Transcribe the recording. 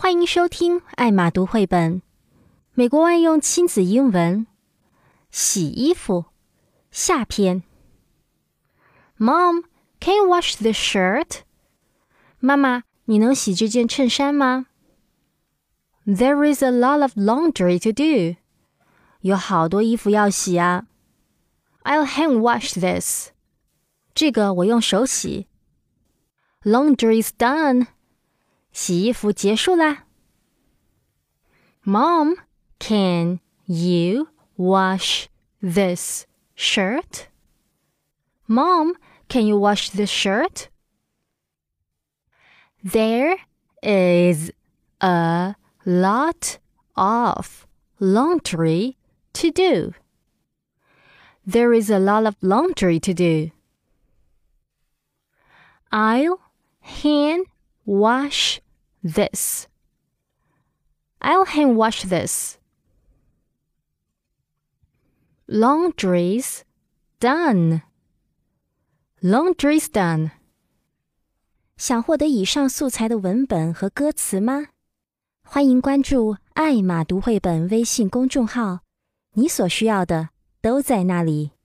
欢迎收听艾玛读绘本，美国万用亲子英文，洗衣服下篇。Mom, can you wash this shirt? 妈妈，你能洗这件衬衫吗？ There is a lot of laundry to do. 有好多衣服要洗啊。I'll hand wash this. 这个我用手洗。Laundry's done. 洗衣服结束啦。Mom, can you wash this shirt? Mom, can you wash this shirt? There is a lot of laundry to do. There is a lot of laundry to do. I'll hand wash this. I'll hand wash this. Laundry's done. Laundry's done. 想获得以上素材的文本和歌词吗？欢迎关注艾玛读绘本微信公众号，你所需要的都在那里。